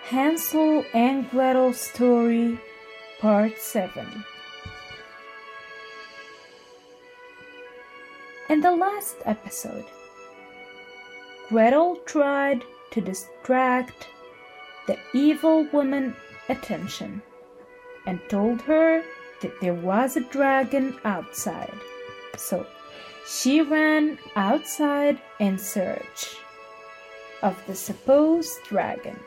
Hansel and Gretel Story, Part 7. In the last episode, Gretel tried to distract the evil woman's attention and told her that there was a dragon outside. So she ran outside in search of the supposed dragon.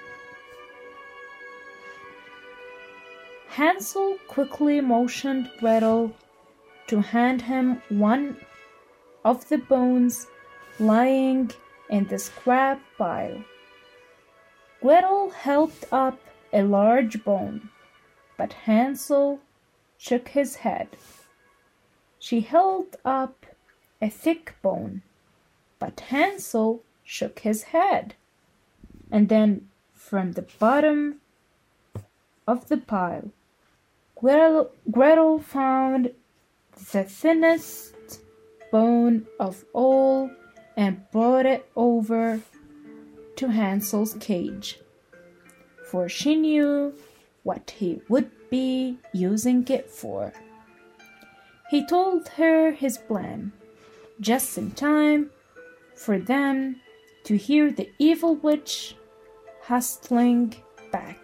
Hansel quickly motioned Gretel to hand him one of the bones lying in the scrap pile. Gretel held up a large bone, but Hansel shook his head. She held up a thick bone, but Hansel shook his head. And then from the bottom of the pile, Gretel found the thinnest bone of all and brought it over to Hansel's cage, for she knew what he would be using it for. He told her his plan, just in time for them to hear the evil witch hustling back.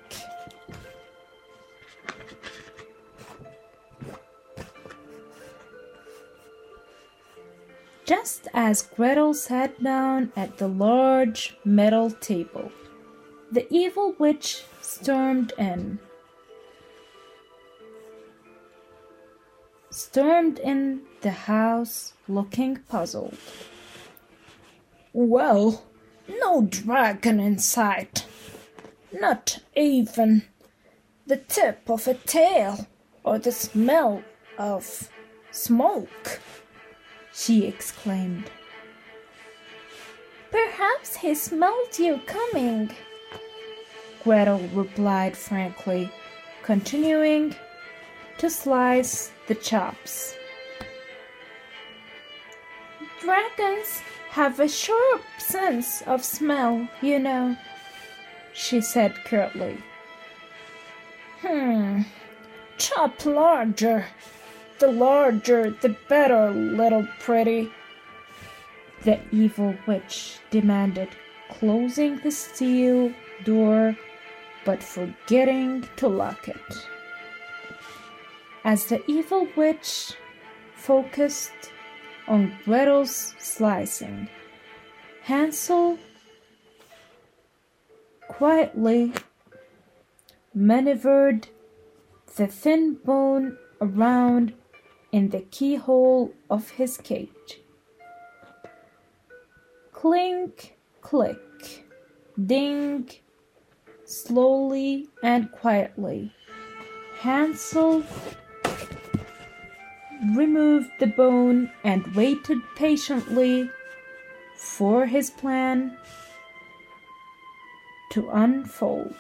Just as Gretel sat down at the large metal table, the evil witch stormed in the house looking puzzled. Well, no dragon in sight. Not even the tip of a tail or the smell of smoke, she exclaimed. Perhaps he smelled you coming, Gretel replied frankly, continuing to slice the chops. Dragons have a sharp sense of smell, you know, she said curtly. Chop larger. The larger, the better, little pretty, the evil witch demanded, closing the steel door but forgetting to lock it. As the evil witch focused on Gretel's slicing, Hansel quietly maneuvered the thin bone around in the keyhole of his cage. Clink, click, ding. Slowly and quietly, Hansel removed the bone and waited patiently for his plan to unfold.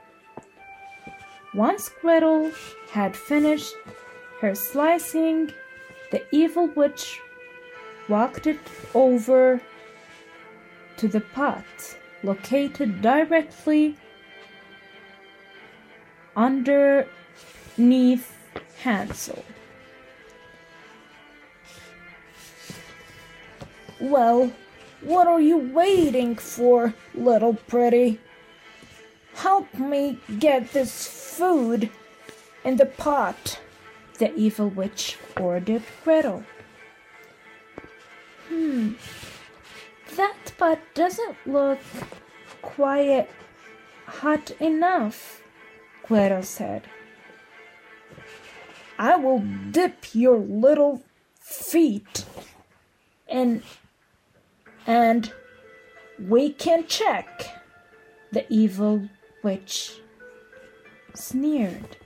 Once Gretel had finished her slicing, the evil witch walked it over to the pot located directly underneath Hansel. Well, what are you waiting for, little pretty? Help me get this food in the pot, the evil witch ordered Gretel. That pot doesn't look quite hot enough, Gretel said. I will dip your little feet in and we can check, the evil witch sneered.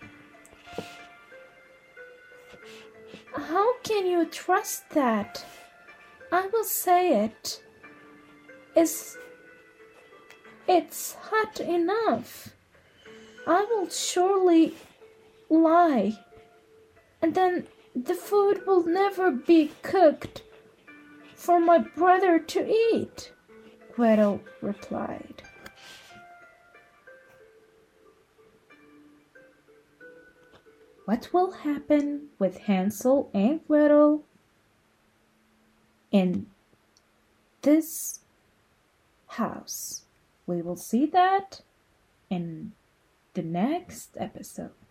How can you trust that? I will say it. It's hot enough. I will surely lie, and then the food will never be cooked for my brother to eat, Gretel replied. what will happen with Hansel and Gretel in this house. We will see that in the next episode.